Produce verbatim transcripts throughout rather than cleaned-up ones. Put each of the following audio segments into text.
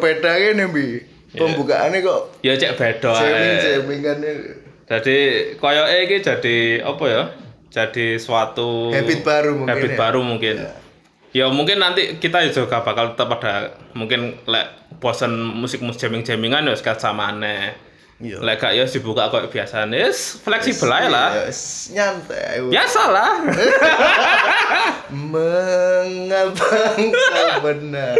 beda kene Bi. Pembukaannya kok ya cek beda jamming jamming kan. Jadi koyoke iki jadi apa ya? Jadi suatu habit baru mungkin. Habit ya? baru mungkin. Ya. ya mungkin nanti kita juga bakal tetap ada mungkin lek bosen musik-musik jamming-jammingan ya sekat samane. Iya. Lek gak ya dibuka kok biasane. Wis fleksibel ae lah. Yes, nyantai. Biasa lah. Mengapa kau benar?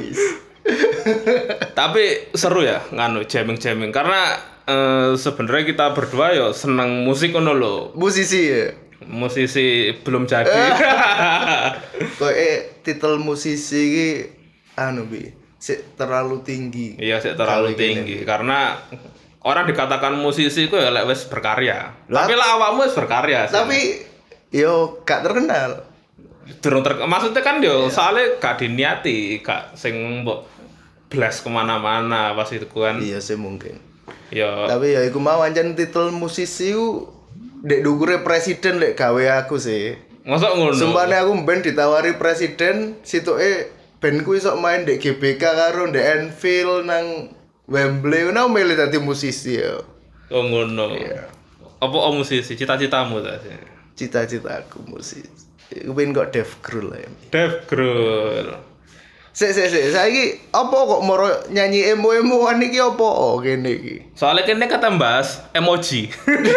Tapi seru ya nganu jamming-jamming karena uh, sebenarnya kita berdua yo seneng musik ngono lho. Musisi ya. Musisi belum jadi. Kok eh titel musisi iki anu Bi, sik terlalu tinggi. Iya, sik terlalu tinggi gini. Karena orang dikatakan musisi ku ya lek wis berkarya. Lap, tapi lah awakmu wis berkarya. Tapi sih. Yo gak terkenal. Durung ter maksudnya kan yo yeah. Soalnya gak diniati, gak sing mbok blast kemana-mana pas itu kan. Iya sih mungkin. Yo. Tapi ya iku mau ancen titel musisi ku dek dukure presiden lek gawe aku sih. Mosok ngono. Sumpane aku ben ditawari presiden, situke ben ku iso main dek G B K karo dek Anfield nang Wembley, ngono milih dadi musisi ya. Oh ngono. Iya. Apa oh musisi? Cita-citamu ta? Cita-citaku musisi. Aku pengen kok Dave Grohl ya. Dave Grohl. Sik sik sik, saiki apa kok moro nyanyi emo-emoan iki apa oh, kene iki? Soalnya kene kata bahas emoji.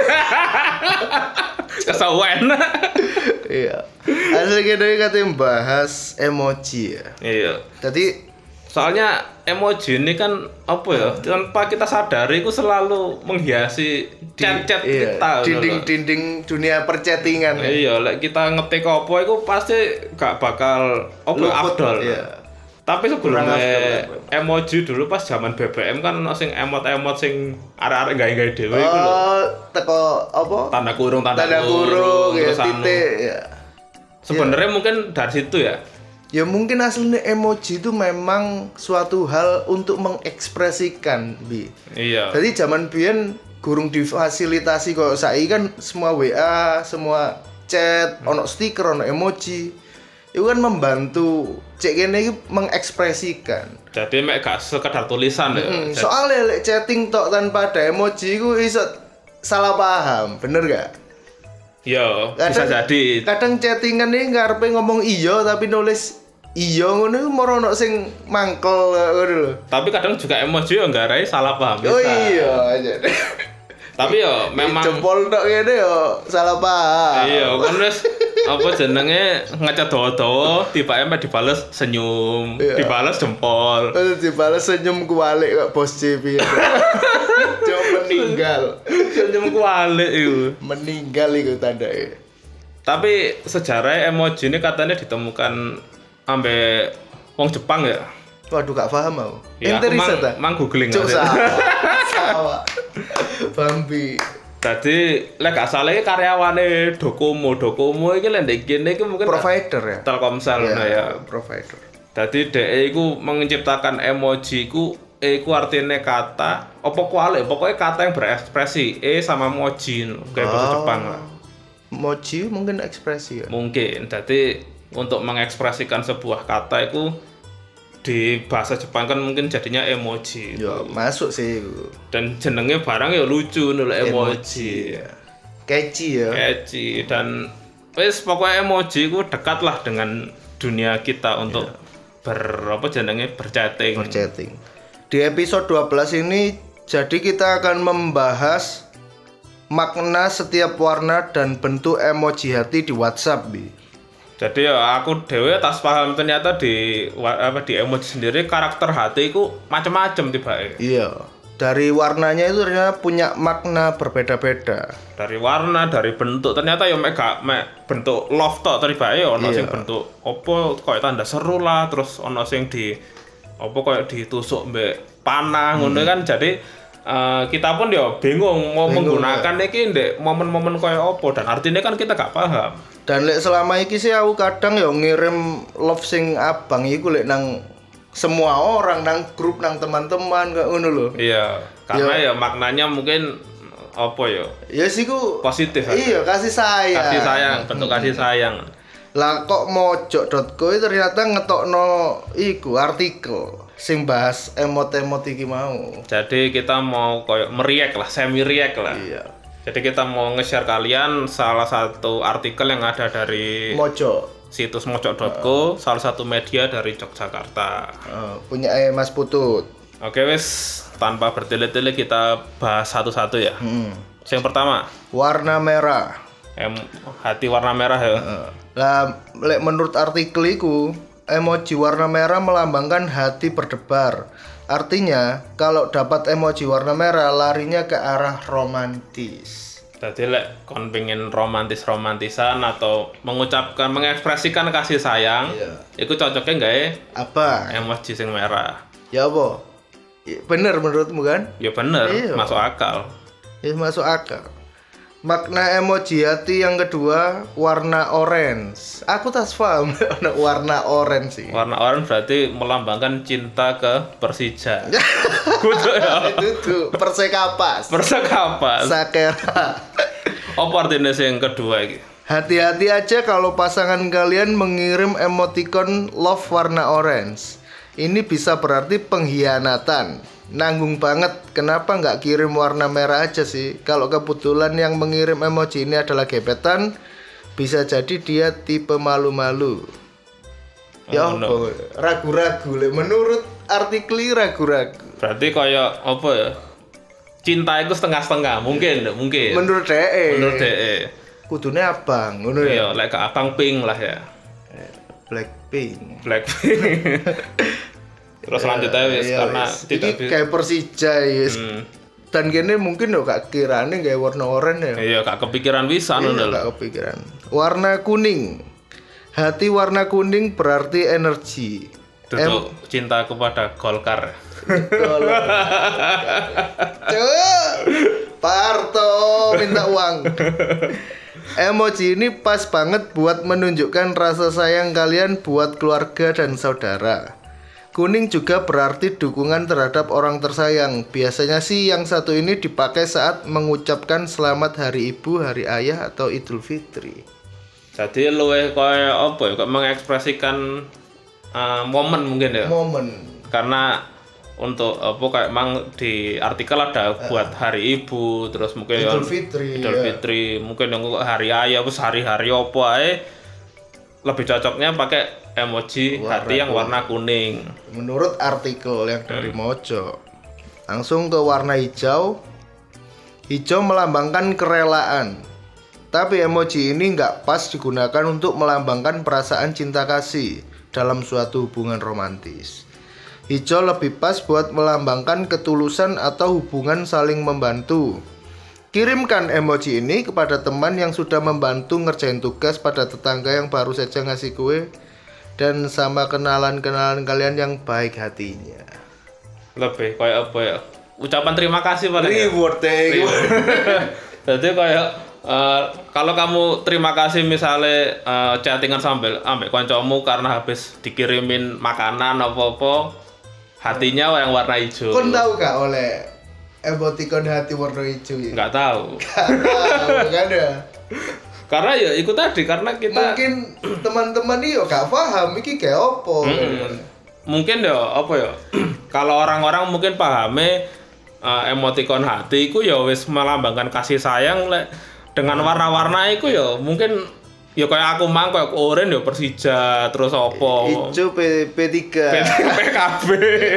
Kesawan. Iya. Asli kene kata bahas emoji ya. Iya. Jadi soalnya emoji ini kan apa ya? Tanpa kita sadari itu selalu menghiasi chat-chat iya, kita. Dinding-dinding dunia perchattingan. Iya, lek kita ngetik apa itu pasti gak bakal apa afdol. Iya. Tapi sebelumnya emoji dulu pas zaman B B M kan sing emot-emot sing arek-arek gawe-gawe dhewe iku lho. Oh, teko apa? Tanda kurung, tanda, tanda kurung, ya, titik ya. Sebenarnya ya. Mungkin dari situ ya. Ya mungkin aslinya emoji itu memang suatu hal untuk mengekspresikan, Bi. Iya. Jadi zaman biyen gurung difasilitasi kok saiki kan semua W A, semua chat, hmm. ono stiker, ono emoji. Itu kan membantu cek kene iki mengekspresikan. Jadi mek gak sekedar tulisan ya. Hmm, soalnya lek chatting tok tanpa ada emoji iku iso salah paham, bener gak? Iya, bisa jadi. Kadang chattingan iki ngarepe ngomong iya tapi nulis iya ngono iku moro ono sing mangkel ngono lho. Tapi kadang juga emoji yo nggarai salah paham bisa. Oh iya aja. Tapi yo memang jempol tok ngene yo salah paham. Iya, kan wis apa jenenge ngecat dawa-dawa tiba-tiba dibales senyum, iya. Dibales jempol. Terus dibales senyum kualik kok bos C P. Cuma meninggal. Senyum kualik itu. Meninggal itu tandanya. Tapi sejarah emoji ini katanya ditemukan ambe wong Jepang ya. Waduh gak paham aku. Ya, aku mang, mang googling aja. Sawa. Bambi. Jadi lek gak salah iki karyawane Docomo, Docomo iki lek ndek kene iki mungkin provider ya. Telkomsel ya, ya. Provider. Jadi dhek iku menciptakan emoji iku e iku artine kata apa kualik, pokoknya kata yang berekspresi e sama moji kayak bahasa oh, Jepang lah. Moji mungkin ekspresi ya. Mungkin. Jadi untuk mengekspresikan sebuah kata itu di bahasa Jepang kan mungkin jadinya emoji. Ya, masuk sih. Dan jenenge barang ya lucu nul emoji. emoji ya. Catchy ya. Catchy dan wis pokoknya emoji itu dekat lah dengan dunia kita untuk yeah. ber apa jenenge berchatting. Berchatting. Di episode dua belas ini jadi kita akan membahas makna setiap warna dan bentuk emoji hati di WhatsApp, Bi. Jadi ya aku dewe tas paham ternyata di apa di emoji sendiri karakter hati itu macam-macam tiba-tiba. Iya. Dari warnanya itu ternyata punya makna berbeda-beda. Dari warna, dari bentuk ternyata ya mek gak mek bentuk love tok tiba-tiba ono sing bentuk opo koyo tanda seru lah, terus ono sing di opo koyo ditusuk mbek panah ngono hmm. kan jadi uh, kita pun ya bingung mau bingung, menggunakan ya. Iki ndek momen-momen koyo opo dan artinya kan kita gak paham. Dan lek selama iki sih aku kadang ya ngirim love sing abang iku lek nang semua orang nang grup nang teman-teman kayak ngono lho. Iya, karena ya. ya maknanya mungkin apa ya? Ya sih ku positif. Iya, kasih sayang. Kasih sayang, bentuk hmm. kasih sayang. Lah kok mojok dot co ternyata ngetokno iku artikel. sing bahas emot-emot iki mau. Jadi kita mau koyo meriak lah, semi react lah. Iya. Jadi kita mau nge-share kalian salah satu artikel yang ada dari Mojo. situs mojo dot co, uh. salah satu media dari Yogyakarta. Uh, punya eh, Mas Putut. Oke wes, tanpa bertele-tele kita bahas satu-satu ya. Hmm. Yang pertama, warna merah. Em, hati warna merah ya. Uh, lah, menurut artikel itu, emoji warna merah melambangkan hati berdebar. Artinya, kalau dapat emoji warna merah, larinya ke arah romantis. Jadi lek kon pengen romantis-romantisan atau mengucapkan, mengekspresikan kasih sayang, iya. Itu cocoknya nggak ya? Apa? Emoji sing merah. Ya apa? Bener menurutmu kan? Ya bener, iya. Masuk akal. Ya masuk akal. Makna emoji hati yang kedua warna orange. Aku tak paham warna orange sih. Warna orange berarti melambangkan cinta ke Persija. Kudu ya. Itu tuh Persekapas. Persekapas. Sakera. Apa artinya yang kedua iki? Hati-hati aja kalau pasangan kalian mengirim emoticon love warna orange. Ini bisa berarti pengkhianatan. Nanggung banget, kenapa nggak kirim warna merah aja sih? Kalau kebetulan yang mengirim emoji ini adalah gebetan, bisa jadi dia tipe malu-malu. Oh, ya no. Ragu-ragu, menurut artikel ragu-ragu. Berarti kayak apa ya? Cinta itu setengah-setengah, mungkin, yeah. mungkin. Menurut D E. Menurut D E. Kudune abang, ngono ya. Iya, like abang pink lah ya. Blackpink. Blackpink. Terus lanjut aja wis iya, karena yes. tidak bisa kayak Persija yes. Hmm. Dan kene mungkin yo gak kirane gawe warna oranye ya. Iya, gak kepikiran bisa iya, ngono lho. Gak kepikiran. Warna kuning. Hati warna kuning berarti energi. Tutup em- cinta kepada Golkar. Coba Parto minta uang. Emoji ini pas banget buat menunjukkan rasa sayang kalian buat keluarga dan saudara. Kuning juga berarti dukungan terhadap orang tersayang. Biasanya sih yang satu ini dipakai saat mengucapkan selamat hari ibu, hari ayah, atau Idul Fitri. Jadi luwih kayak apa ya, kayak mengekspresikan uh, momen mungkin ya. Momen. Karena untuk apa kayak emang di artikel ada buat hari ibu, terus mungkin Idul Fitri. Idul ya. Fitri, mungkin yang hari ayah, terus hari-hari apa ae. Lebih cocoknya pakai emoji warna hati yang warna kuning. Menurut artikel yang dari hmm. Mojo. Langsung ke warna hijau. Hijau melambangkan kerelaan. Tapi emoji ini nggak pas digunakan untuk melambangkan perasaan cinta kasih dalam suatu hubungan romantis. Hijau lebih pas buat melambangkan ketulusan atau hubungan saling membantu. Kirimkan emoji ini kepada teman yang sudah membantu ngerjain tugas, pada tetangga yang baru saja ngasih kue, dan sama kenalan-kenalan kalian yang baik hatinya. Lebih kayak apa ya? Ucapan terima kasih pada reward ya. Jadi kayak uh, kalau kamu terima kasih misalnya uh, chattingan sambil ambek kancamu karena habis dikirimin makanan apa-apa, hatinya yang warna hijau. Kon tahu gak oleh emoticon hati warna hijau ya? Nggak tahu. Nggak tahu, nggak ada. Karena ya ikut tadi, karena kita mungkin teman-teman ini gak paham iki kayak apa. Hmm, mungkin ya apa ya? Kalau orang-orang mungkin pahame uh, emoticon hati iku ya wis melambangkan kasih sayang lek dengan warna-warna iku ya mungkin ya kayak aku mang kayak oranye ya Persija, terus apa? Hijau P, P3. P K B.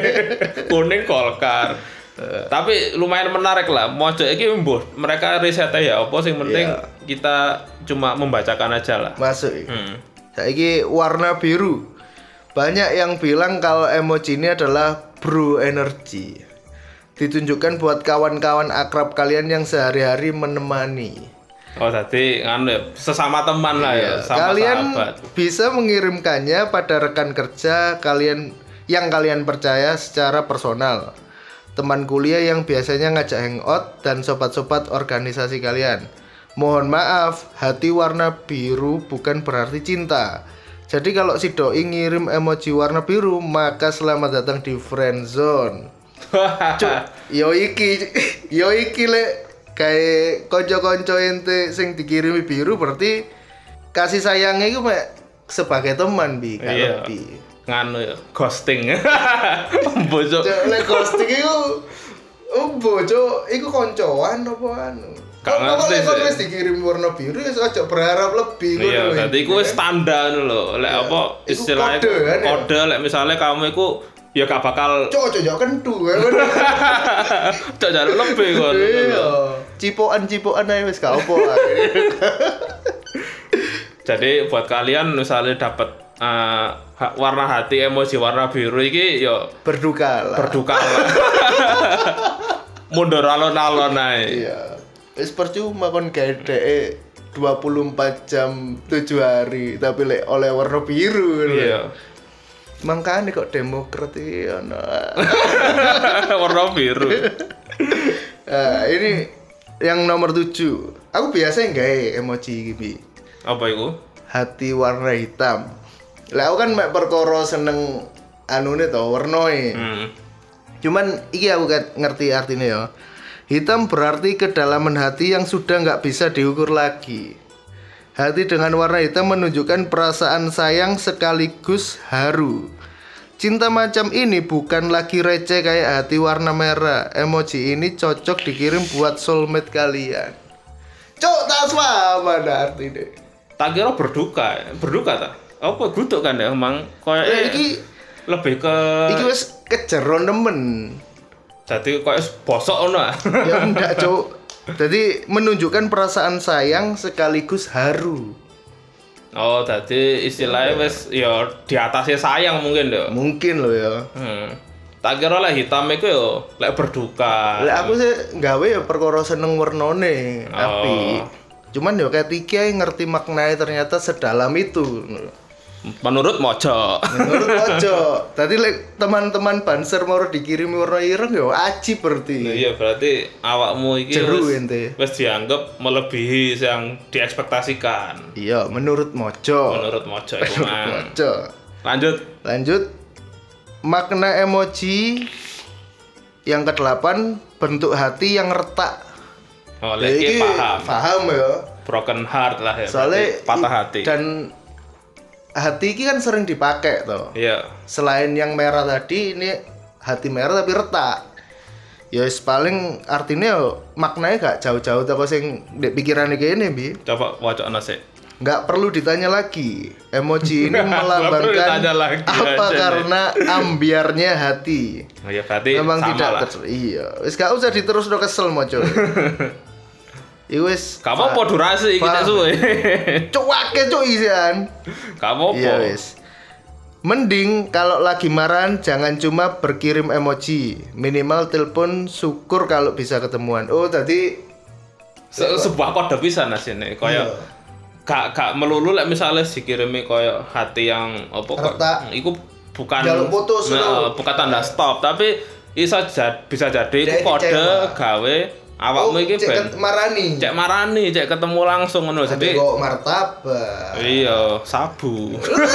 Kuning Golkar. Uh, tapi lumayan menarik lah. Mojo iki mbuh mereka riset ya apa sing penting yeah. Kita cuma membacakan aja lah. Masuk. Hmm. Saiki warna biru. Banyak yang bilang kalau emoji ini adalah bro energy. Ditunjukkan buat kawan-kawan akrab kalian yang sehari-hari menemani. Oh, tadi kan sesama teman lah ya, sama kalian sahabat. Bisa mengirimkannya pada rekan kerja kalian yang kalian percaya secara personal. Teman kuliah yang biasanya ngajak hangout, dan sobat-sobat organisasi kalian. Mohon maaf, hati warna biru bukan berarti cinta. Jadi kalau si doi ngirim emoji warna biru, maka selamat datang di friendzone. Cuk, yo iki, yo iki le kayak konco-konco ente sing dikirimi biru berarti kasih sayangnya itu mek sebagai teman bi, iya. lebih. nganu ya, ghosting. Bocok. Lek ghosting iku opo, Cuk? Iku koncoan apa anu? Gak ngerti sih. Kalau wis sih. dikirim warna biru ya aja berharap lebih Iya, ngono. dadi iku wis standar lho. Lek Iya. apa Iku istilahnya kode kan, ya? kode lek misalnya kamu iku ya gak bakal Cuk, cuk, kentu kan. cok jaluk lebih kon. Iya. Cipokan-cipokan ae wis gak opo ae. Jadi buat kalian misalnya dapat uh, warna hati emoji warna biru iki yo Berduka lah. berduka lah. Mundur alon-alon ae. Iya. Wis percuma kon gawe dhek dua puluh empat jam tujuh hari tapi lek oleh warna biru. Iya. Makanya kok Demokrat iki ono. Warna biru. Nah, ini yang nomor tujuh. Aku biasa gawe emoji iki, Bi. Apa iku? Hati warna hitam. Lah aku kan mek perkara seneng anune to, warnae. Hmm. Cuman iki aku kat- ngerti artinya ya. Hitam berarti kedalaman hati yang sudah nggak bisa diukur lagi. Hati dengan warna hitam menunjukkan perasaan sayang sekaligus haru. Cinta macam ini bukan lagi receh kayak hati warna merah. Emoji ini cocok dikirim buat soulmate kalian. Cok, tak apa ada artinya. Tak kira berduka, berduka ta? Apa gutuk kan ya emang koyo Eh, iki lebih ke iki wis kejeron temen. jadi koyo bosok ngono. ah. Ya enggak, Cok. Jadi menunjukkan perasaan sayang sekaligus haru. Oh, jadi istilahnya wis ya di atasnya sayang mungkin ya. Mungkin loh ya. Hmm. Tak kira lah hitam iku yo lek berduka. Lah aku sih nggawe ya perkara seneng wernane, Oh. api. Cuman ya ketika ngerti maknanya ternyata sedalam itu. Menurut mojo. Menurut ojo. Tadi lek teman-teman banser mau dikirimi warna ireng ya aji berarti. Iya, berarti awakmu iki Jeru wis- ente. wis dianggap melebihi yang diekspektasikan. Iya, menurut mojo. Menurut mojo iku mang. Mojo. Lanjut. Lanjut. Makna emoji yang kedelapan, bentuk hati yang retak. Oh, Ya, lek iki iki paham. Paham ya. Broken heart lah ya. Soalnya berarti patah i- hati. Dan hati ini kan sering dipakai toh. Iya. Selain yang merah tadi, ini hati merah tapi retak. Ya wis paling artinya yo, maknanya gak jauh-jauh teko sing ndek pikirane kene, Bi. Coba wacana sik. Nggak perlu ditanya lagi. Emoji ini Nggak perlu melambangkan ditanya lagi apa aja nih. karena ambiarnya hati. Oh ya berarti Memang sama tidak lah. ter- iya. Wis gak usah diterus do kesel moco. Iku wis Kamu apa durasi iki nek Paham. suwe? cuake cuk isian. Kamu apa? Iya wis. Mending kalau lagi marahan jangan cuma berkirim emoji, minimal telepon syukur kalau bisa ketemuan. Oh tadi Se- sebuah kode pisan asine koyo Iya. gak gak melulu lek misale dikirimi koyo hati yang apa kok Retak. iku bukan Jaluk putus nah, lho. bukan tanda stop tapi iso jad, bisa jadi iku Dia kode kecewa. gawe awakmu iki cek ben ket- marani. cek marani cek ketemu langsung ngono Jadi jadi kok martabak. iya sabu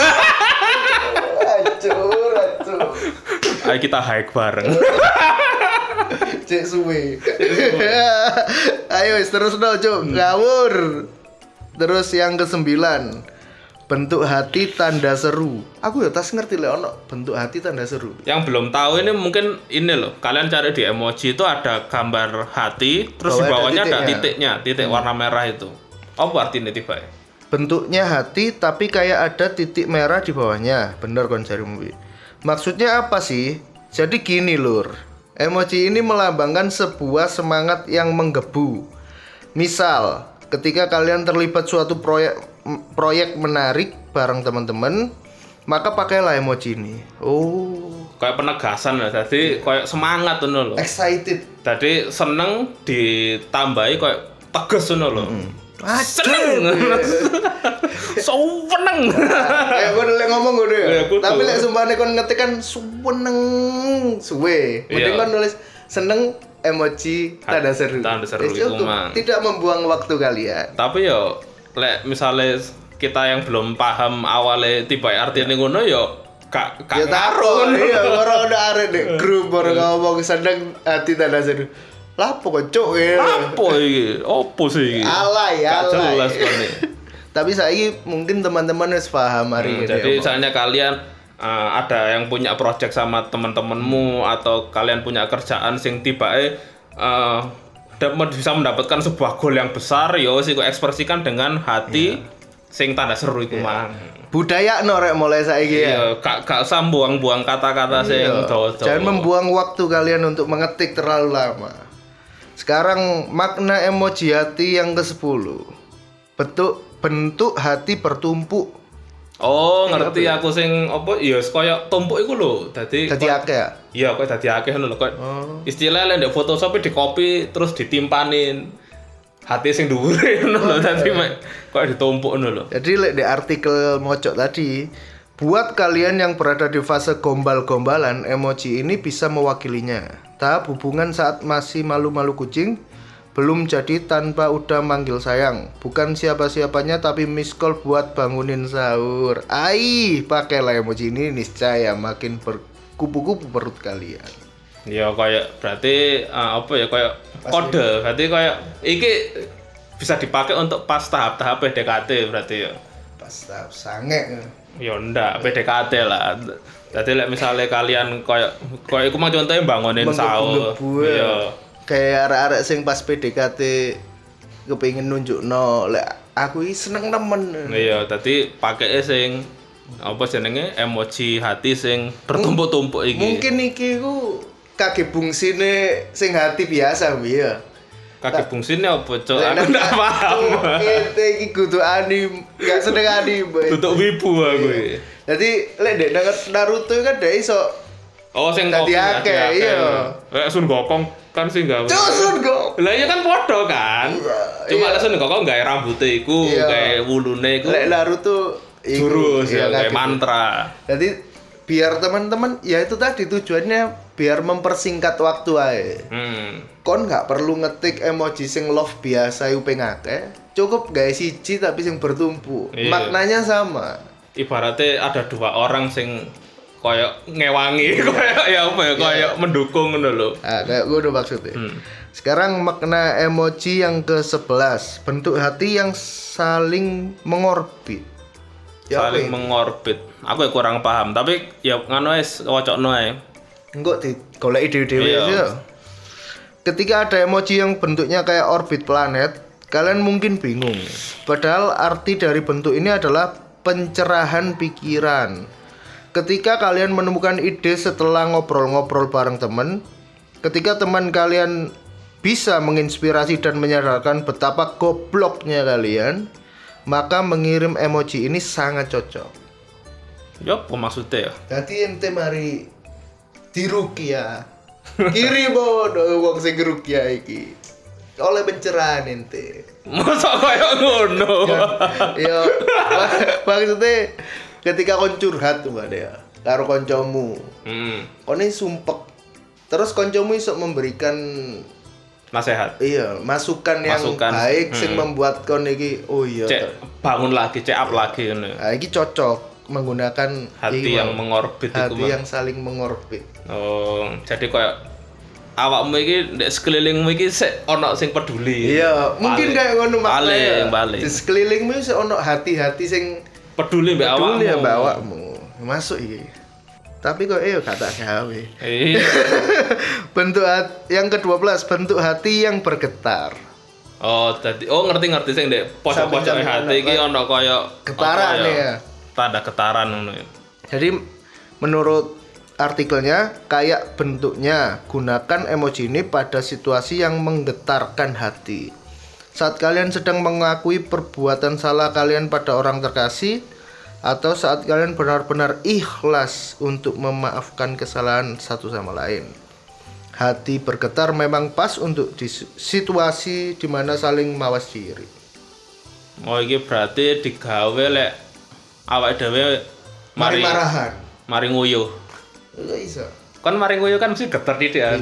Acur, acur. ayo kita hike bareng Cek suwe. Ayo wis terus no, Cuk. Ngawur. Terus yang kesembilan, bentuk hati tanda seru. Aku ya tas ngerti lek ono bentuk hati tanda seru. yang belum tahu ini mungkin ini loh kalian cari di emoji itu ada gambar hati terus di Bawah ada bawahnya ada titiknya. titiknya titik warna merah itu apa artinya tiba Bentuknya hati tapi kayak ada titik merah di bawahnya. Bener kon jarimu. Wi. Maksudnya apa sih? Jadi gini, Lur. Emoji ini melambangkan sebuah semangat yang menggebu. Misal, ketika kalian terlibat suatu proyek m- proyek menarik bareng teman-teman, maka pakailah emoji ini. Oh, kayak penegasan lah jadi kayak semangat tuh loh excited. jadi seneng ditambahi kayak tegas tuh loh seneng so seneng Kayak gue lek ngomong gue Ya, ya. kudu. Tapi lek sumpahnya kon ngetik kan seneng suwe. Mending Iya. kon nulis seneng emoji tanda seru. Tanda seru Wis itu, cukup. Mang. Tidak membuang waktu kalian. tapi yo lek misalnya kita yang belum paham awalnya tiba artinya ngono yo gak gak Ya taruh ngaruh. iya orang udah arek deh grup orang ngomong seneng hati tanda seru. Lapo kok cuk ya. apa iki opo sih iki Alay, gak alay. jelas kan nih Tapi saya mungkin teman-teman harus paham hari Hmm, ini. jadi ya, Bang. misalnya kalian uh, ada yang punya project sama teman-temanmu atau kalian punya kerjaan sing tibake uh, dapat bisa mendapatkan sebuah goal yang besar, yo sih kok ekspresikan dengan hati yeah. sing tanda seru iku yeah. mang. Budaya no rek mulai saiki ya. Iya, gak gak usah buang-buang kata-kata sing dawa-dawa. Jangan membuang waktu kalian untuk mengetik terlalu lama. Sekarang makna emoji hati yang kesepuluh. Bentuk bentuk hati bertumpuk. Oh, ngerti aku sing apa ya kaya tumpuk iku lho. Dadi dadi akeh ya? Iya, kaya dadi akeh ngono lho. Oh. Istilahnya lek Photoshop di copy terus ditimpanin hati sing dhuwure ngono lho. Dadi mek kaya ditumpuk ngono lho. Jadi lek di artikel mojok tadi, buat kalian yang berada di fase gombal-gombalan, emoji ini bisa mewakilinya. Tahap hubungan saat masih malu-malu kucing, belum jadi tanpa udah manggil sayang. Bukan siapa-siapanya tapi miss call buat bangunin sahur. Ai, pakailah emoji ini niscaya makin berkupu-kupu perut kalian. Ya kayak berarti uh, apa ya kayak kode. Berarti kayak iki bisa dipakai untuk pas tahap-tahap P D K T berarti ya. Pas tahap sange. Ya ndak P D K T lah. Jadi like, misalnya kalian kayak kayak iku mah contohnya bangunin sahur. Iya. Kayak arek-arek sing pas P D K T kepengin nunjukno lek aku iki seneng temen. Iya, dadi pakeke sing apa jenenge emoji hati sing bertumpuk-tumpuk iki. Mungkin iki ku kaki bungsine sing hati biasa piye. Kaki bungsine apa, Cok? Aku ndak paham. Ete iki kudu anime, gak seneng anime. Tutuk wibu aku iki. Jadi lek dek Naruto kan dek iso oh sing dadi akeh iya. Lek Sun Gokong kan sing gawe. Sun Gokong. Lah iya kan padha kan. Cuma lek Sun Gokong gawe rambute iku, gawe wulune iku. Lek Naruto jurus ya gawe mantra. Jadi biar teman-teman ya itu tadi tujuannya biar mempersingkat waktu ae. Hmm. Kon nggak perlu ngetik emoji sing love biasa iku ping akeh. Cukup gawe siji tapi sing bertumpuk. Iya. Maknanya sama. Ibaratnya ada dua orang sing koyo ngewangi, koyo ya apa ya, koyo mendukung ngono lho. Ah, kayak gue udah maksudnya. Hmm. Sekarang makna emoji yang ke sebelas, bentuk hati yang saling mengorbit. Ya, saling mengorbit. Aku ya kurang paham, tapi ya ngono wis wocokno ae. Engko di golek ide-ide ya. Ketika ada emoji yang bentuknya kayak orbit planet, kalian mungkin bingung. Padahal arti dari bentuk ini adalah pencerahan pikiran. Ketika kalian menemukan ide setelah ngobrol-ngobrol bareng teman, ketika teman kalian bisa menginspirasi dan menyadarkan betapa gobloknya kalian, maka mengirim emoji ini sangat cocok. Ya, apa maksudnya ya? Jadi ente mari diruqyah. Kiri bodoh wong sing ruqyah iki. Oleh pencerahan ente. Masa kayak ngono. Ya, maksudnya ketika kon curhat tuh Mbak Dea karo koncomu. Hmm. Kone sumpek. Terus koncomu iso memberikan nasihat. Iya, masukan yang masukan. baik hmm. sing membuat kon iki oh iya. Cek bangun lagi, cek up lagi ngono. Nah, iki cocok menggunakan hati yang mengorbit itu. Hati yang saling mengorbit. Oh, jadi kayak awakmu iki ndek sekelilingmu iki sik ana sing peduli. Iya, mungkin kayak ngono maknanya. Balik, di sekelilingmu sik ana hati-hati sing peduli mbek awakmu. Peduli mbek awakmu. Masuk iki. Tapi kok eh gak tak gawe. Iya. Bentuk hati, yang kedua belas, bentuk hati yang bergetar. Oh, tadi oh ngerti-ngerti sing ndek pojok-pojoke hati iki ana kaya getaran ya. Tanda getaran ngono ya. Jadi menurut artikelnya kayak bentuknya, gunakan emoji ini pada situasi yang menggetarkan hati. Saat kalian sedang mengakui perbuatan salah kalian pada orang terkasih, atau saat kalian benar-benar ikhlas untuk memaafkan kesalahan satu sama lain. Hati bergetar memang pas untuk di situasi di mana saling mawas diri. Oh, iki berarti digawe lek awake dhewe mari marahan, mari nguyuh. Iya iso. Kan mari nguyuh kan mesti getar didikan.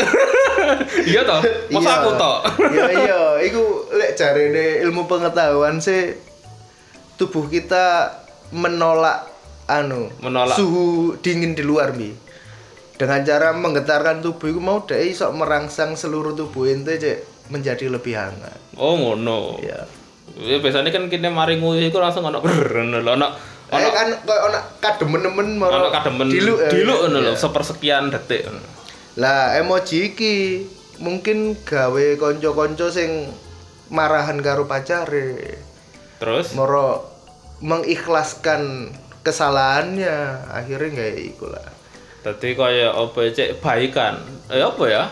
Iya toh? Masa aku toh? Iya iya, iku lek jarene ilmu pengetahuan sih tubuh kita menolak anu, menolak suhu dingin di luar mi. Dengan cara menggetarkan tubuh itu mau deh iso merangsang seluruh tubuh ente cek menjadi lebih hangat. Oh ngono. Iya. Ya biasanya kan kita mari nguyuh iku langsung ono ono Eh kan koyo ana kademen-demen Ono kademen diluk ya. diluk ngono lho, Iya. sepersekian detik. Lah emoji iki mungkin gawe kanca-kanca sing marahan karo pacare. Terus Moro mengikhlaskan kesalahannya, akhirnya kayak iku lah. dadi kaya apa cek baikan. Eh apa ya?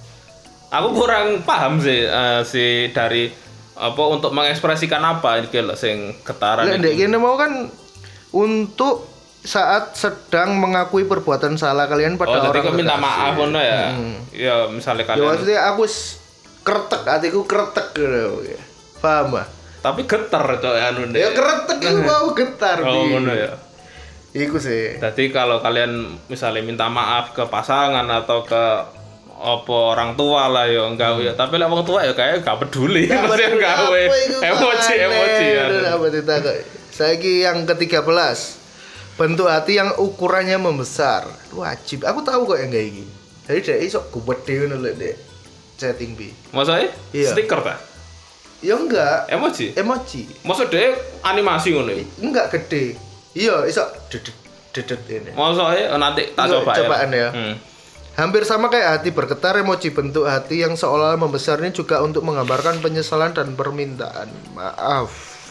Aku kurang paham sih eh, si dari apa untuk mengekspresikan apa iki lho sing getaran Lek iki. ndek kene mau kan untuk saat sedang mengakui perbuatan salah kalian pada Oh, orang jadi kau minta terkasih. maaf ngono ya. Hmm. Ya misalnya Ya kalian maksudnya aku s- kretek, hatiku kretek gitu. Paham ah? tapi geter itu anu Ya kretek itu mau getar. Oh Bi. ngono ya. Iku sih. Jadi kalau kalian misalnya minta maaf ke pasangan atau ke apa orang tua lah ya enggak ya. Tapi lek wong tua ya kayak gak peduli. Ya, Mesti padahal gawe apa iku emoji aneh, emoji ya. aduh, apa ditakok. Saiki yang ketiga belas. Bentuk hati yang ukurannya membesar. Wajib. Aku tahu kok yang kayak gini. Jadi dia iso gede ngono lek dek chatting bi. Maksudnya Iya. stiker ta? Ya enggak, Emoji. emoji. Maksud dia animasi ngono ya. Enggak gede. Iya, iso dedet dedet ini. Maksudnya nanti tak Iso coba cobaan ya. Hmm. Hampir sama kayak hati bergetar, emoji bentuk hati yang seolah membesar ini juga untuk menggambarkan penyesalan dan permintaan maaf.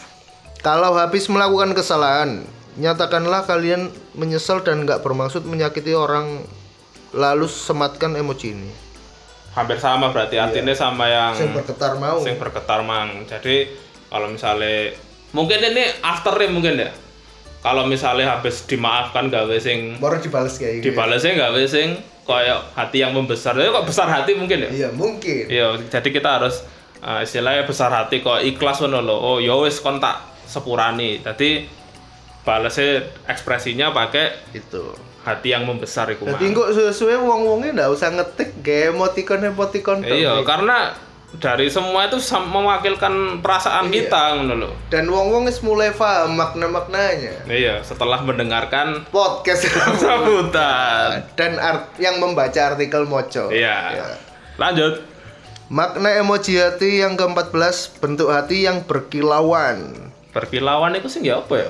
Kalau habis melakukan kesalahan, nyatakanlah kalian menyesal dan nggak bermaksud menyakiti orang, lalu sematkan emoji ini. Hampir sama berarti artinya sama yang Yang bergetar mau. sing bergetar mang. Jadi kalau misalnya mungkin ini afternya mungkin ya. Kalau misalnya habis dimaafkan gawe sing Baru dibales kayak gitu. dibalesnya gawe sing kayak hati yang membesar. Jadi kok besar hati mungkin ya? Iya, mungkin. Iya, jadi kita harus uh, istilahnya besar hati kok ikhlas ngono lho. Oh, ya wis kon tak sepurani. Jadi balesnya ekspresinya pakai Itu. hati yang membesar iku Jadi mang. kok suwe-suwe wong-wonge ndak usah ngetik kayak emoticon-emoticon tok. Iya, karena dari semua itu sam- mewakilkan perasaan Iya. kita ngono lho. Dan wong-wong wis mulai paham makna-maknanya. Iya, setelah mendengarkan Podcast sambutan. dan art yang membaca artikel moco. Iya. Ya. Lanjut. Makna emoji hati yang keempat belas, bentuk hati yang berkilauan. Berkilauan itu sing ya apa ya?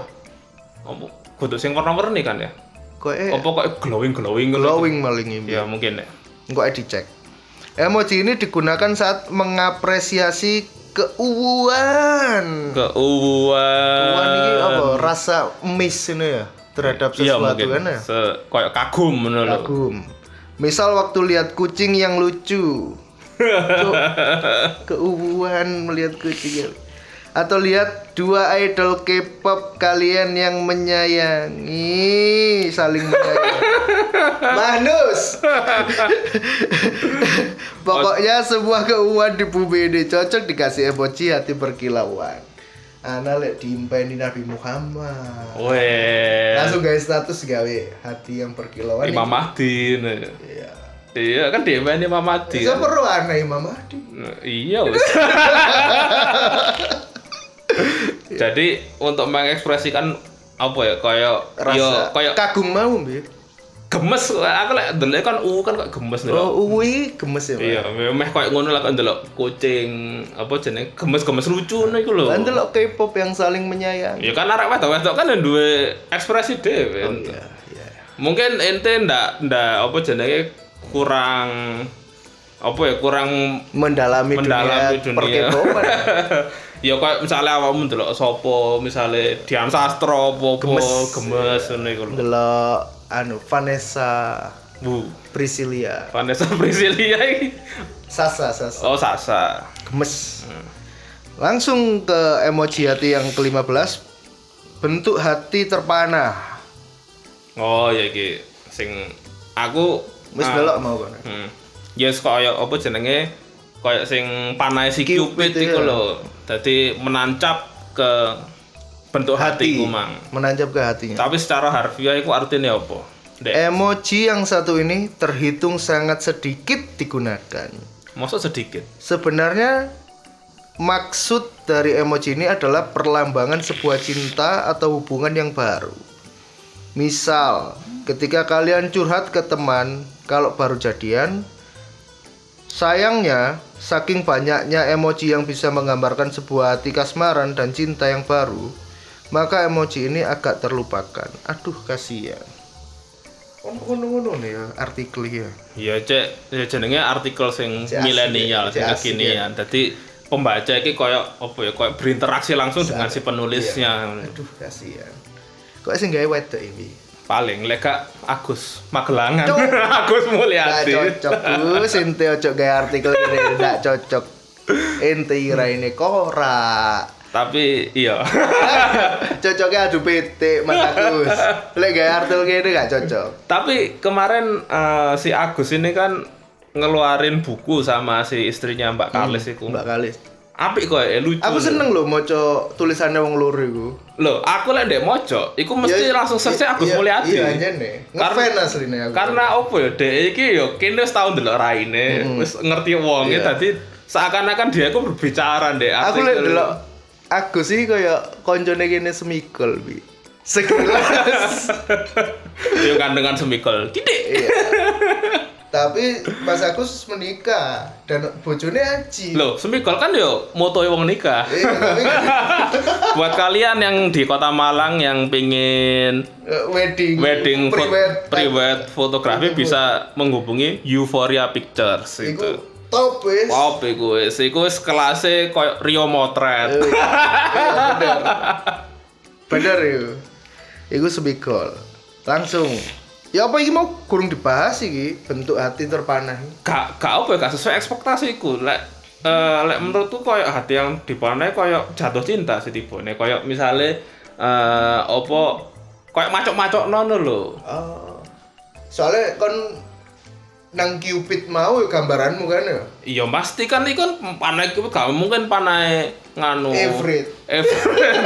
Apa kudu sing warna-warni kan ya? Kok eh Apa kok glowing-glowing ngono? glowing maling ini. Ya mungkin ya. Kok eh dicek. Emoji ini digunakan saat mengapresiasi keuuan. Keuuan. Keuuan ini apa? Rasa miss ini ya terhadap Iya sesuatu mungkin. kan ya. Se kayak kagum ngono lho. Kagum. Misal waktu lihat kucing yang lucu. Cuk, keuuan melihat kucing. Atau lihat dua idol K-pop kalian yang menyayangi, saling menyayangi. Manus. Pokoknya sebuah keuuan di bumi ini cocok dikasih emoji hati berkilauan. Ana lek diimpeni Nabi Muhammad. Weh. Langsung guys status gawe hati yang berkilauan. Imam Mahdi. Nah. Iya. Iya kan dia main Imam Mahdi. Bisa Kan? perlu aneh Imam Mahdi. Nah, iya wis. Jadi untuk mengekspresikan apa ya kayak Rasa yo kayak kagum mau, Bi. gemes aku lek ndelok kan u kan kok gemes nih. Oh, uwi gemes ya, Pak. Iya, meh kayak ngono lah kan ndelok kucing apa jenenge gemes-gemes lucu niku lho. Lan delok K-pop yang saling menyayangi. Ya kan arek wedok-wedok kan duwe ekspresi dhewe. Oh iya, iya. Mungkin ente ndak ndak apa jenenge kurang apa ya kurang Mendalami, mendalami dunia, dunia. per-K-popan. Ya kayak misalnya awakmu ndelok sapa misale Dian Sastro apa Gemes. gemes ngono iku lho. Delok anu Vanessa Bu, Priscilia. Vanessa Priscilia iki. Sasa, Sasa. Oh, Sasa. Gemes. Langsung ke emoji hati yang kelima belas. Bentuk hati terpana. Oh, ya iki sing aku Wis ah, delok mau kan. Hmm. Yes kaya apa jenenge? Kaya sing panahe si Cupid Cupid iku ya. lho. Dadi menancap ke bentuk Hati. hatiku mang. Menancap ke hatinya. Tapi secara harfiah iku artinya apa? Dek. Emoji yang satu ini terhitung sangat sedikit digunakan. Maksud sedikit. Sebenarnya maksud dari emoji ini adalah perlambangan sebuah cinta atau hubungan yang baru. Misal, ketika kalian curhat ke teman kalau baru jadian, sayangnya saking banyaknya emoji yang bisa menggambarkan sebuah hati kasmaran dan cinta yang baru, maka emoji ini agak terlupakan. Aduh, kasihan. Ngono-ngono nih ya artikel ya. Iya, cek ya jenenge artikel sing Cek asik, milenial, cek sing asik, kekinian. Dadi pembaca iki koyo apa ya, koyo berinteraksi langsung dengan si penulisnya. Iya. Aduh, kasihan. Kok sing gawe wedok iki? Paling lek gak Agus Magelangan. Agus Mulyadi. Nggak cocok, Bu. Sinte ojo gawe artikel ini nggak cocok. Ente kira ini korak. Tapi iya. Cocoknya adu P T Mas Agus. Lek gawe artikel gini nggak cocok. Tapi kemarin uh, si Agus ini kan ngeluarin buku sama si istrinya Mbak Kalis iku. Mbak Kalis. Apik kok ya, lucu. Aku seneng loh maca tulisannya wong loro iku. Loh, aku lek ndek maca, iku mesti Ya, langsung search Agus iya, Mulyadi. Iya, jane. Ngefan asline aku. Karena opo ya, dhek iki ya kene wis tau ndelok raine, wis ngerti wonge, Iya. dadi seakan-akan dia iku berbicara ndek Aku lek delok Agus iki kaya koncone kene semikol bi. Sekilas. yo kandengan semikol. Titik. Iya. Tapi Mas Agus menikah dan bojone Aji. Loh, semikol kan yo motoe wong nikah. Iya, tapi Buat kalian yang di Kota Malang yang pingin eh, wedding wedding fo- private private fotografi bisa menghubungi Euphoria Pictures Iku itu. top wis. Wow, iku wis iku wis kelase koyo Rio Motret. Eh, iya, bener. Bener yo. Iku semikol. Langsung. Ya apa iki mau kurang dibahas iki bentuk hati terpanah. Gak gak apa ya, gak sesuai ekspektasiku. Lek eh lek menurutku koyo hati yang dipanai koyo jatuh cinta sih tibone. Koyo misale eh apa koyo macok-macok nono lho. Oh. Soalnya kon nang Cupid mau ya gambaranmu kan ya. Iya pasti kan iku kan panai ku gak mungkin panai nganu. Everett. Everett.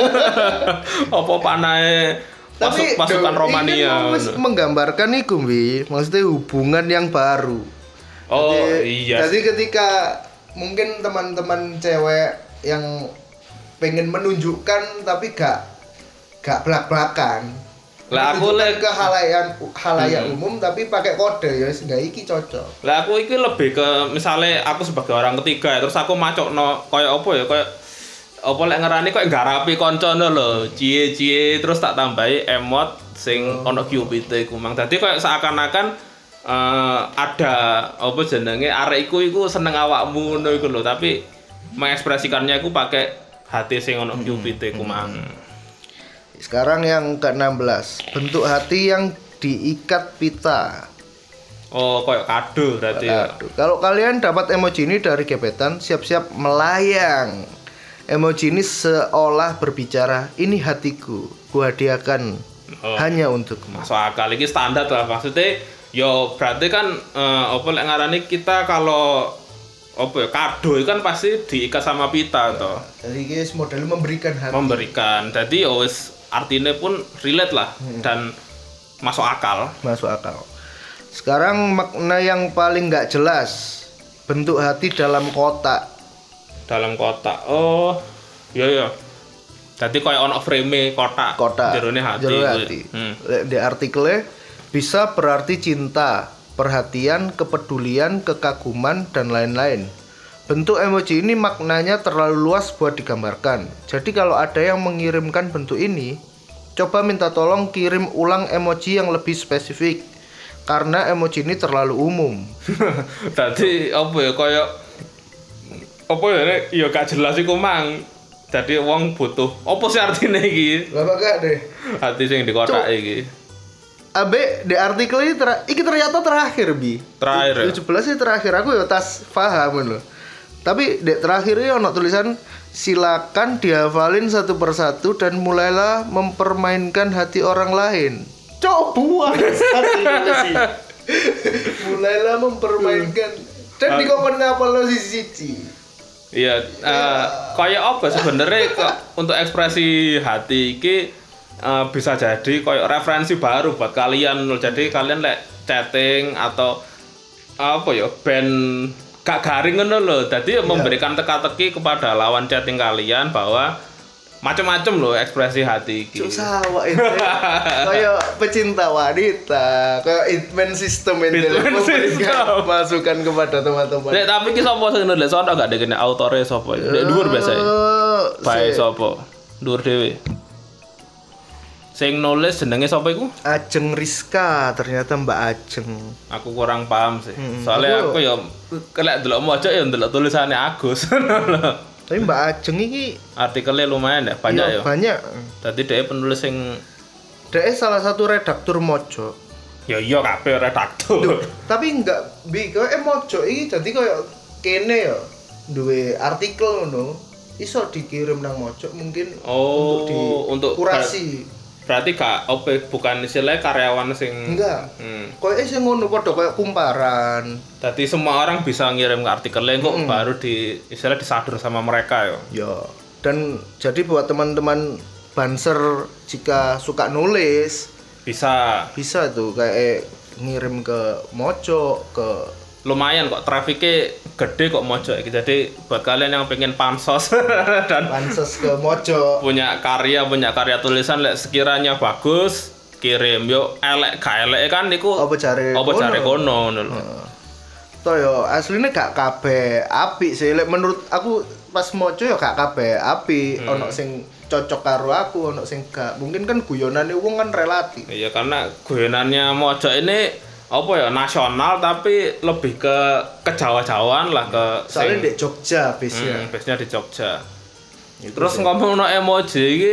Apa panai Tapi masuk pasukan do- Romania. ini kan wis menggambarkan iku, Bi. Maksudnya hubungan yang baru. Oh Jadi- iya. Jadi ketika mungkin teman-teman cewek yang pengen menunjukkan tapi gak gak belak-belakan. Lah aku Menunjukkan lek ke halayak halayak Hmm. umum tapi pakai kode ya sehingga iki cocok. Lah aku iki lebih ke misale aku sebagai orang ketiga ya, terus aku macokno koyo apa ya koyo apa lek ngerani koyo ngarapi koncone lho, cie-cie terus tak tambahi emot sing ono Cupid iku mang. Dadi koyo seakan-akan eh, ada apa jenenge arek iku iku seneng awakmu ngono iku lho, tapi mengekspresikannya iku pakai hati sing ono Cupid iku mang. Sekarang yang ke enam belas, bentuk hati yang diikat pita. Oh, koyo kado berarti ya. Aduh, kalau kalian dapat emoji ini dari gebetan, siap-siap melayang. Emoji ini seolah berbicara, ini hatiku, kuhadiahkan Oh. hanya untukmu. Masuk akal iki standar lah maksudnya yo berarti kan eh, apa lek ngarani kita kalau apa ya kado itu kan pasti diikat sama pita toh Jadi guys, model memberikan hati. memberikan jadi yo wis artinya pun relate lah dan masuk akal. Masuk akal. Sekarang makna yang paling nggak jelas, bentuk hati dalam kotak. Dalam kotak. Oh iya iya jadi kayak ono frame kotak Kotak. jerone hati, Jerone kuwi. hati. Hmm. Di artikelnya bisa berarti cinta, perhatian, kepedulian, kekaguman, dan lain-lain. Bentuk emoji ini maknanya terlalu luas buat digambarkan. Jadi kalau ada yang mengirimkan bentuk ini, coba minta tolong kirim ulang emoji yang lebih spesifik. Karena emoji ini terlalu umum. Dadi apa ya kayak apa ya nek ya gak jelas iku mang. Dadi wong butuh apa sih artine iki? Lah gak deh. Hati sing di kotak Cuk. iki. Abe di artikel ini ter iki ternyata terakhir bi. Terakhir ya? tujuh belas sih terakhir aku ya tas paham loh. Tapi di terakhir ini ono tulisan silakan dihafalin satu persatu dan mulailah mempermainkan hati orang lain. Coba sih. Mulailah mempermainkan dan di komen ngapal lo sisi-sisi. Iya, eh, kayak apa sebenarnya ke- untuk ekspresi hati iki eh, bisa jadi kayak referensi baru buat kalian loh. Jadi kalian lek chatting atau apa ya band gak garing ngono loh. Jadi memberikan teka-teki kepada lawan chatting kalian bahwa macam-macam loh ekspresi hati iki. Cuk sawah itu kayak pecinta wanita, kayak hitman system ini Hitman system. masukan kepada teman-teman. Lek tapi ki sapa sing nulis sono gak dekene autore sapa. Lek dhuwur biasa. Eh, Bae si- sapa? Dhuwur dhewe. Sing nulis jenenge sapa iku? Ajeng Rizka, ternyata Mbak Ajeng. Aku kurang paham sih. Hmm, Soalnya aku- aku ya kelek delok mojok ya ndelok tulisannya Agus. Tapi Mbak Ajeng iki Artikelnya lumayan ya, banyak iya, ya. banyak. Tadi dia penulis sing Dia salah satu redaktur Mojo. ya iya kabeh redaktur. Tapi enggak bi koyo eh Mojo iki dadi koyo kene ya duwe artikel ngono. Iso dikirim nang Mojo mungkin Oh, untuk untuk kurasi. Berarti gak opo bukan istilahnya karyawan sing Enggak. Hmm. Koyo sing ngono padha koyo kumparan. Tadi semua orang bisa ngirim ke artikelnya kok Mm-mm. baru di istilah disadur sama mereka ya. Ya. Dan jadi buat teman-teman Banser jika suka nulis Bisa bisa tuh kayak ngirim ke Mojo ke lumayan kok trafiknya gede kok mojok iki. Jadi buat kalian yang pengen pansos dan Banses ke Mojo. punya karya punya karya tulisan lek sekiranya bagus kirim yo elek gak elek kan niku Apa jare apa kono? jare kono ngono lho. Toh yo aslinya gak kabeh apik sih lek menurut aku pas Mojo yo gak kabeh apik Hmm. ono sing cocok karo aku ono sing gak mungkin kan guyonane wong kan relatif. Iya karena guyonannya mojok ini apa ya nasional tapi lebih ke kejawa-jawaan lah ke Soalnya sing- di Jogja biasanya. Hmm, biasanya di Jogja. Itu Terus sih. ngomong no emoji iki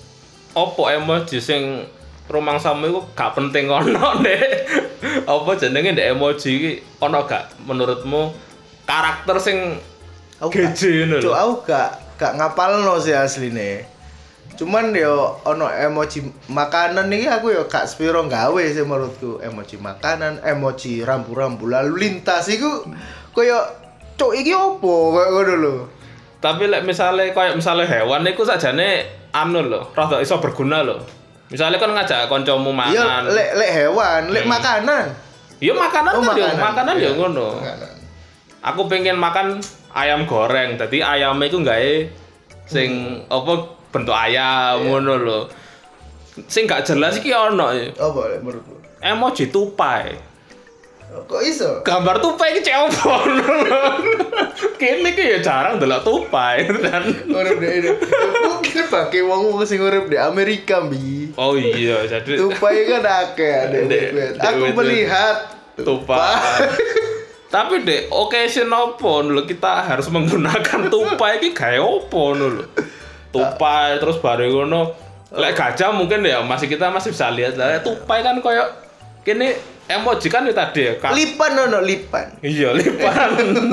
opo emoji sing rumangsamu iku gak penting ono Dek. Apa jenenge ndek emoji iki ono gak menurutmu karakter sing Aku gak- geje ngono Cuk, lho. aku gak gak ngapalno sih asline. Cuman yo ono emoji makanan iki aku yo gak sepiro gawe sih menurutku. Emoji makanan, emoji rambu-rambu lalu lintas iku koyo cuk iki opo koyo ngono lho. Tapi lek misale koyo misale hewan iku sakjane anu lho, rada iso berguna lho. Misale kan ngajak kancamu Iya, mangan. lek lek hewan, lek Hmm. makanan. Iya makanan Oh, kan yo, makanan. makanan yo Iya, ngono. makanan. Aku pengen makan ayam goreng. Dadi ayamnya iku gawe sing apa bentuk ayam ngono lho. Sing gak jelas iki ono ya. Apa lek menurutmu? Emoji tupai. Kok iso? Gambar tupai iki cek opo ngono lho. Kene iki ya jarang delok tupai dan Urip di mungkin pakai wong-wong sing urip di Amerika, Bi. oh iya jadi Tupai kan akeh Dek, dek. dek, Aku dek, melihat tupai. Tapi dek, occasion opo lho kita harus menggunakan tupai iki gawe opo lho. Tupai terus bareng ngono. Lek gajah mungkin ya masih kita masih bisa lihat lah. Tupai kan koyo kene emoji kan itu tadi ya. Ka- Lipan ono lipan. iya lipan.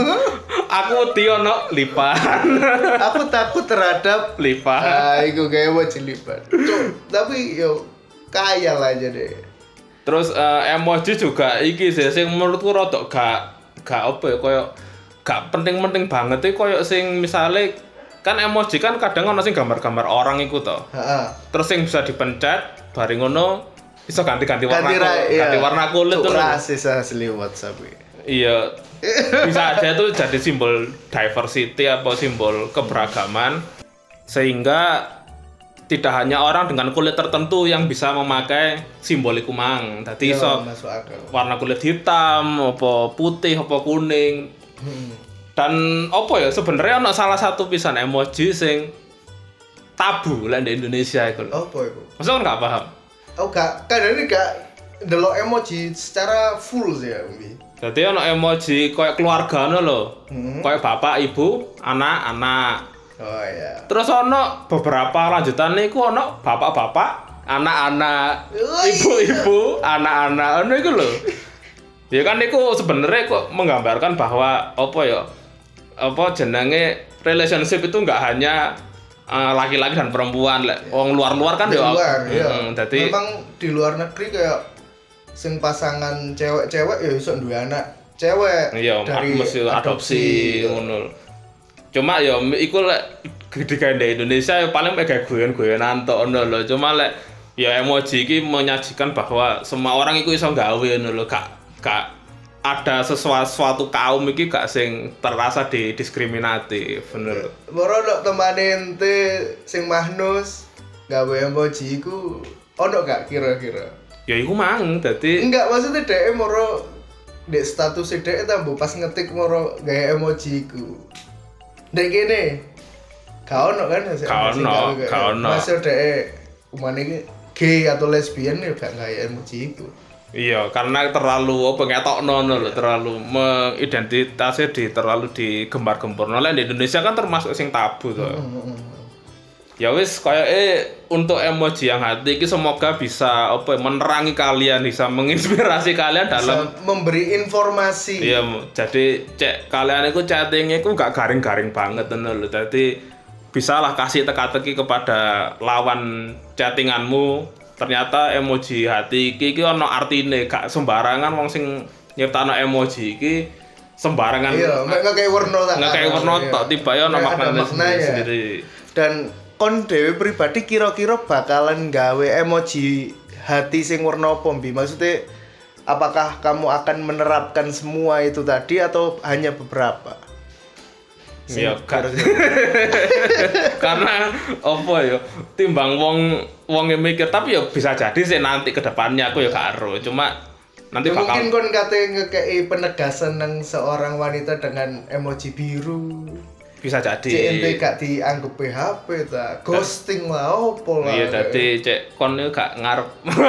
Aku tiono lipan. Aku takut terhadap lipan. ah iku kayak emoji lipan. Cuk, tapi yo kaya lah aja deh. Terus eh, emoji juga iki sih sing menurutku rada gak gak apa ya koyo gak penting-penting banget iki koyo sing misale kan emoji kan kadang ono sing gambar-gambar orang iku to. Heeh. Terus sing bisa dipencet bareng ngono iso ganti-ganti warna Ganti, ku- ra- iya. ganti warna kulit Cuk, tuh. rasis asli WhatsApp. Iya. Bisa aja tuh jadi simbol diversity atau simbol keberagaman sehingga tidak hanya orang dengan kulit tertentu yang bisa memakai simbol iku mang. Dadi Iya, iso masuk akal. warna kulit hitam, apa putih, apa kuning. Hmm. Dan apa ya sebenarnya ono salah satu pisan emoji sing tabu lah di Indonesia iku. lho. Apa iku? Masa kan gak paham? Oh gak, kadang ini gak delok emoji secara full sih ya, Bi. Jadi ono emoji kayak keluarga ngono lho. Hmm. Kayak bapak, ibu, anak, anak. Oh iya. Terus ono beberapa lanjutan niku ono bapak-bapak, anak-anak, Oh, ibu-ibu, anak-anak ngono iku lho. Ya kan niku sebenarnya kok menggambarkan bahwa apa ya? Apa jenenge relationship itu enggak hanya eh, laki-laki dan perempuan lek wong luar-luar kan Di ya. luar, iya. Mm, dadi Memang di luar negeri kayak sing pasangan cewek-cewek ya iso duwe anak cewek iya dari mesti adopsi gitu. ngono. Cuma ya iku lek di di Indonesia ya paling kayak guyon-guyonan tok ngono lho. Cuma lek ya emoji iki menyajikan bahwa semua orang iku iso gawe ngono lho. Gak gak ada sesuatu, suatu kaum iki gak sing terasa didiskriminatif bener. Moro ndok temane ente sing Mahnus gawe emoji iku ono gak kira-kira? Ya iku mang dadi Enggak, maksudnya dhek moro dek status dhek tambah pas ngetik moro gawe emoji iku. Dek kene. Gak ono kan sing Gak sing ono, gawe kayak- gak ono. Masuk dhek umane iki gay atau lesbian ya gak gaya emoji itu. Iya, karena terlalu apa ngetokno lho, terlalu mengidentitasnya di terlalu digembar-gemborno. Lah di Indonesia kan termasuk sing tabu to. Hmm. Ya wis koyoke untuk emoji yang hati iki semoga bisa apa menerangi kalian, bisa menginspirasi kalian dalam bisa memberi informasi. Iya, jadi cek kalian iku chatting iku gak garing-garing banget ngono lho. Dadi bisalah kasih teka-teki kepada lawan chattinganmu. Ternyata emoji hati iki iki ono artine, gak sembarangan wong sing nyiptakno emoji iki sembarangan. Iya, mek ngekek werna tak. Ngekek werna tok tiba ya ono maknane sendiri. Dan kon dhewe pribadi kira-kira bakalan gawe emoji hati sing werna apa mbi? Maksudnya apakah kamu akan menerapkan semua itu tadi atau hanya beberapa? Iya, karena apa ya timbang wong wong yang mikir, tapi ya bisa jadi sih nanti ke depannya aku ya gak ero, cuma nanti ya bakal mungkin kon kate ngekei penegasan nang seorang wanita dengan emoji biru. Bisa jadi. C N T gak dianggap P H P ta, ghosting lah opo lah. Iya, dadi cek kon gak ngarep.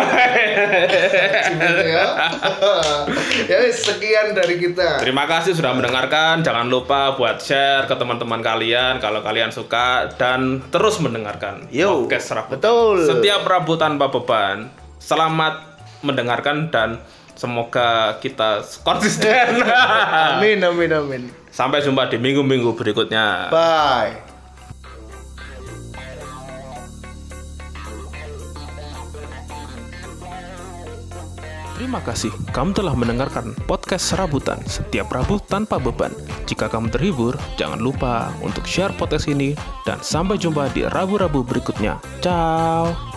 Ya wis sekian dari kita. Terima kasih sudah mendengarkan. Jangan lupa buat share ke teman-teman kalian kalau kalian suka dan terus mendengarkan Yo, podcast Rabutan. Betul. Setiap Rabu tanpa beban. Selamat mendengarkan dan semoga kita konsisten. Amin amin amin. Sampai jumpa di minggu-minggu berikutnya. Bye. Terima kasih kamu telah mendengarkan podcast Serabutan setiap Rabu tanpa beban. Jika kamu terhibur, jangan lupa untuk share podcast ini dan sampai jumpa di Rabu-Rabu berikutnya. Ciao.